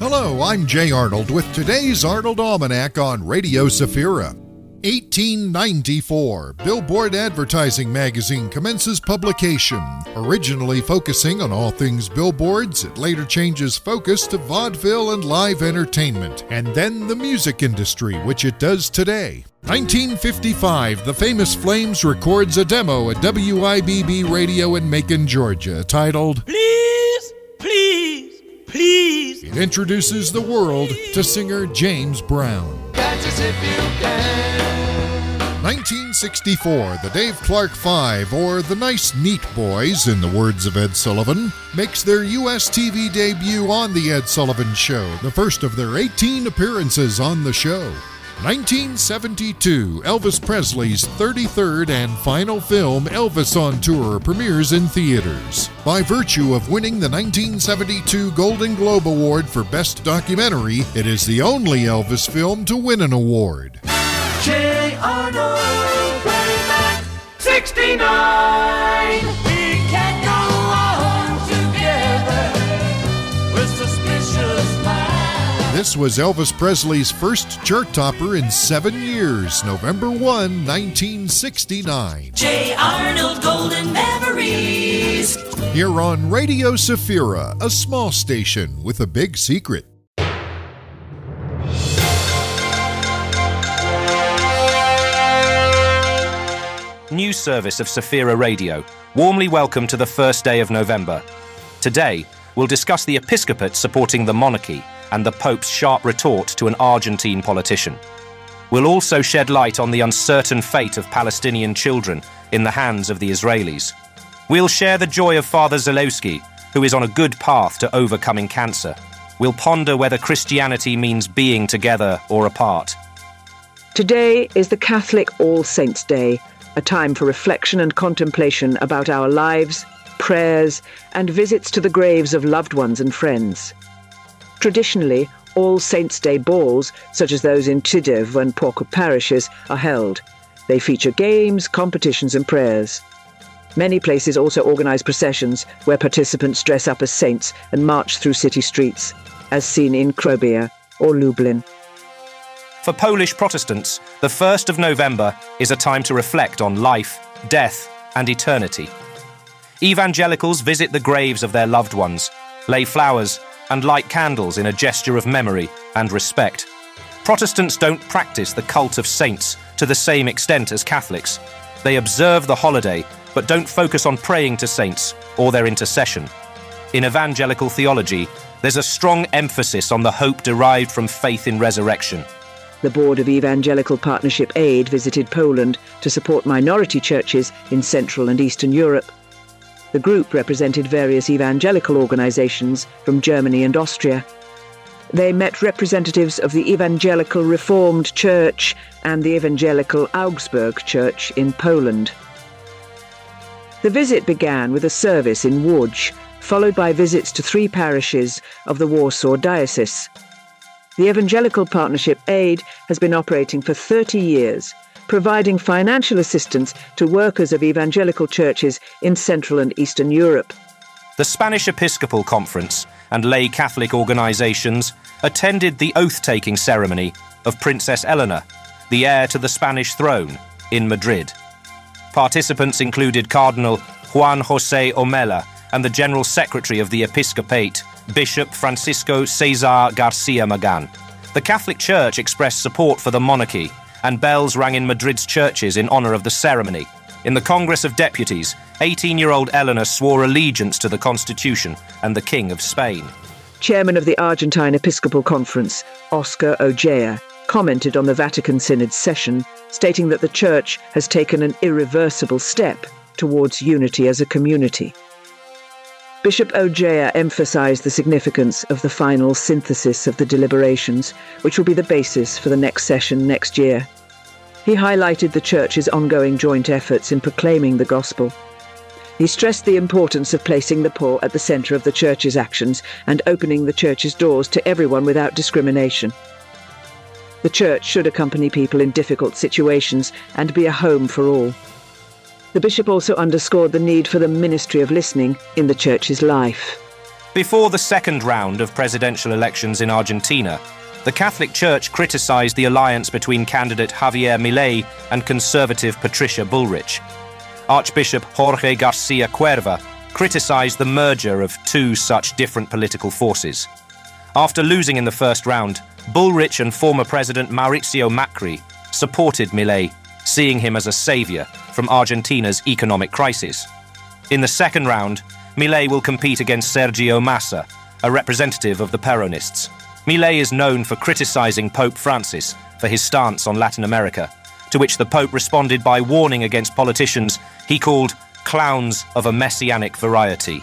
Hello, I'm Jay Arnold with today's Arnold Almanac on Radio Safira. 1894, Billboard Advertising Magazine commences publication. Originally focusing on all things billboards, it later changes focus to vaudeville and live entertainment, and then the music industry, which it does today. 1955, the famous Flames records a demo at WIBB Radio in Macon, Georgia, titled Please, Please, Please. It introduces the world to singer James Brown. Catch us if you can. 1964, the Dave Clark Five, or the Nice Neat Boys, in the words of Ed Sullivan, makes their U.S. TV debut on The Ed Sullivan Show, the first of their 18 appearances on the show. 1972, Elvis Presley's 33rd and final film, Elvis on Tour, premieres in theaters. By virtue of winning the 1972 Golden Globe Award for Best Documentary, it is the only Elvis film to win an award. J. Arnold, Playback 69. We can go on together with suspicious minds. This was Elvis Presley's first chart topper in 7 years, November 1, 1969. J. Arnold Golden Memories. Here on Radio Safira, a small station with a big secret. News service of Safira Radio. Warmly welcome to the first day of November. Today, we'll discuss the episcopate supporting the monarchy and the Pope's sharp retort to an Argentine politician. We'll also shed light on the uncertain fate of Palestinian children in the hands of the Israelis. We'll share the joy of Father Zalewski, who is on a good path to overcoming cancer. We'll ponder whether Christianity means being together or apart. Today is the Catholic All Saints' Day, a time for reflection and contemplation about our lives, prayers, and visits to the graves of loved ones and friends. Traditionally, All Saints' Day balls, such as those in Tyddev and Pawcott parishes, are held. They feature games, competitions, and prayers. Many places also organise processions where participants dress up as saints and march through city streets, as seen in Krobia or Lublin. For Polish Protestants, the 1st of November is a time to reflect on life, death, and eternity. Evangelicals visit the graves of their loved ones, lay flowers, and light candles in a gesture of memory and respect. Protestants don't practice the cult of saints to the same extent as Catholics. They observe the holiday, but don't focus on praying to saints or their intercession. In evangelical theology, there's a strong emphasis on the hope derived from faith in resurrection. The board of Evangelical Partnership Aid visited Poland to support minority churches in Central and Eastern Europe. The group represented various evangelical organizations from Germany and Austria. They met representatives of the Evangelical Reformed Church and the Evangelical Augsburg Church in Poland. The visit began with a service in Łódź, followed by visits to 3 parishes of the Warsaw Diocese. The Evangelical Partnership Aid has been operating for 30 years, providing financial assistance to workers of evangelical churches in Central and Eastern Europe. The Spanish Episcopal Conference and lay Catholic organizations attended the oath-taking ceremony of Princess Eleanor, the heir to the Spanish throne, in Madrid. Participants included Cardinal Juan José Omella and the General Secretary of the Episcopate, Bishop Francisco César García Magán. The Catholic Church expressed support for the monarchy, and bells rang in Madrid's churches in honour of the ceremony. In the Congress of Deputies, 18-year-old Eleanor swore allegiance to the Constitution and the King of Spain. Chairman of the Argentine Episcopal Conference, Oscar Ojea, commented on the Vatican Synod's session, stating that the Church has taken an irreversible step towards unity as a community. Bishop Ojea emphasised the significance of the final synthesis of the deliberations, which will be the basis for the next session next year. He highlighted the Church's ongoing joint efforts in proclaiming the gospel. He stressed the importance of placing the poor at the centre of the Church's actions and opening the Church's doors to everyone without discrimination. The Church should accompany people in difficult situations and be a home for all. The bishop also underscored the need for the ministry of listening in the Church's life. Before the second round of presidential elections in Argentina, the Catholic Church criticized the alliance between candidate Javier Milei and conservative Patricia Bullrich. Archbishop Jorge Garcia Cuerva criticized the merger of two such different political forces. After losing in the first round, Bullrich and former President Mauricio Macri supported Milei, seeing him as a savior from Argentina's economic crisis. In the second round, Milei will compete against Sergio Massa, a representative of the Peronists. Milei is known for criticizing Pope Francis for his stance on Latin America, to which the Pope responded by warning against politicians he called clowns of a messianic variety.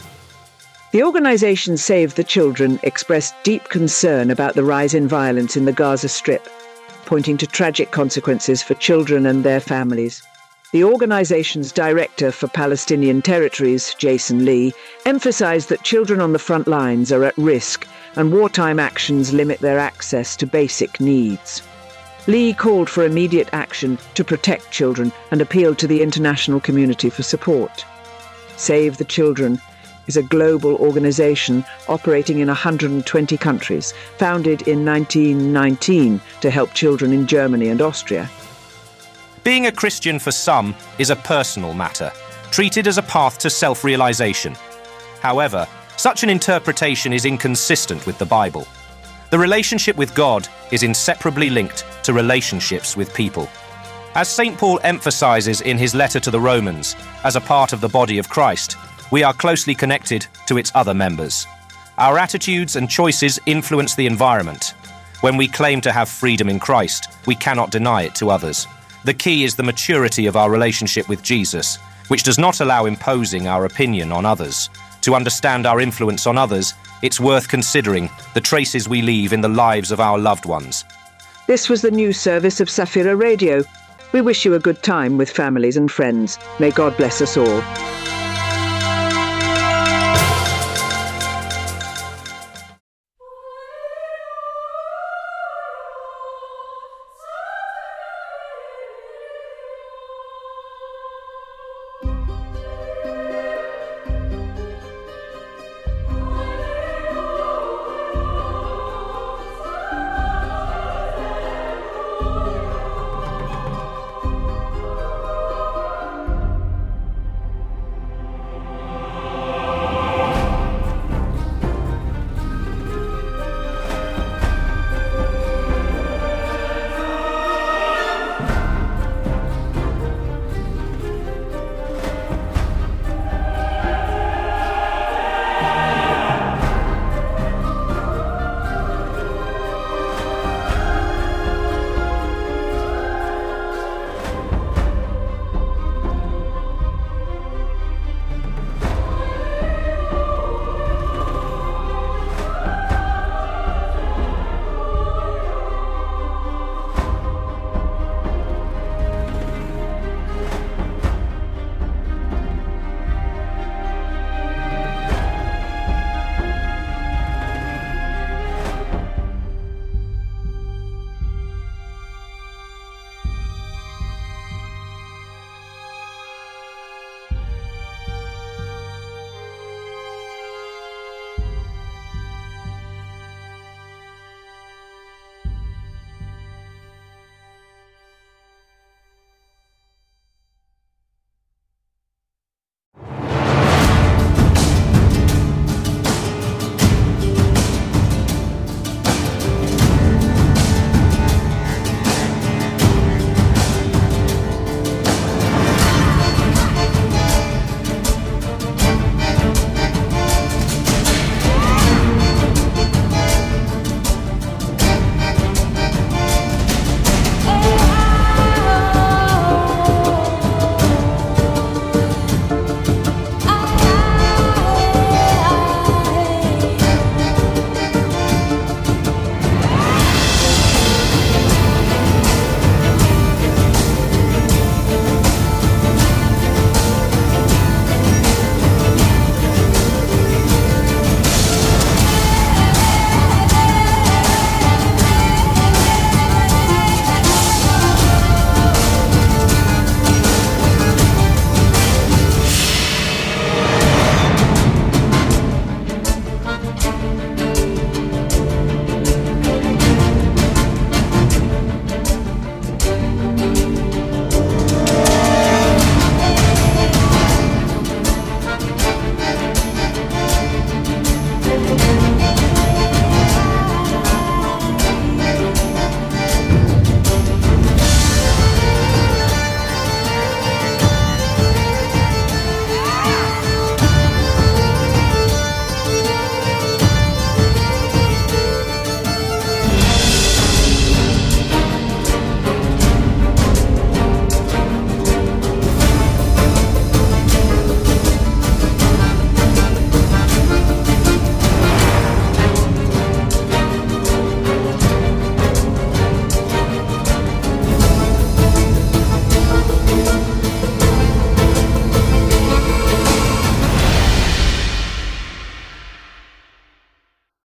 The organisation Save the Children expressed deep concern about the rise in violence in the Gaza Strip, pointing to tragic consequences for children and their families. The organisation's director for Palestinian territories, Jason Lee, emphasised that children on the front lines are at risk and wartime actions limit their access to basic needs. Lee called for immediate action to protect children and appealed to the international community for support. Save the Children is a global organisation operating in 120 countries, founded in 1919 to help children in Germany and Austria. Being a Christian for some is a personal matter, treated as a path to self-realization. However, such an interpretation is inconsistent with the Bible. The relationship with God is inseparably linked to relationships with people. As St. Paul emphasizes in his letter to the Romans, as a part of the body of Christ, we are closely connected to its other members. Our attitudes and choices influence the environment. When we claim to have freedom in Christ, we cannot deny it to others. The key is the maturity of our relationship with Jesus, which does not allow imposing our opinion on others. To understand our influence on others, it's worth considering the traces we leave in the lives of our loved ones. This was the news service of Safira Radio. We wish you a good time with families and friends. May God bless us all.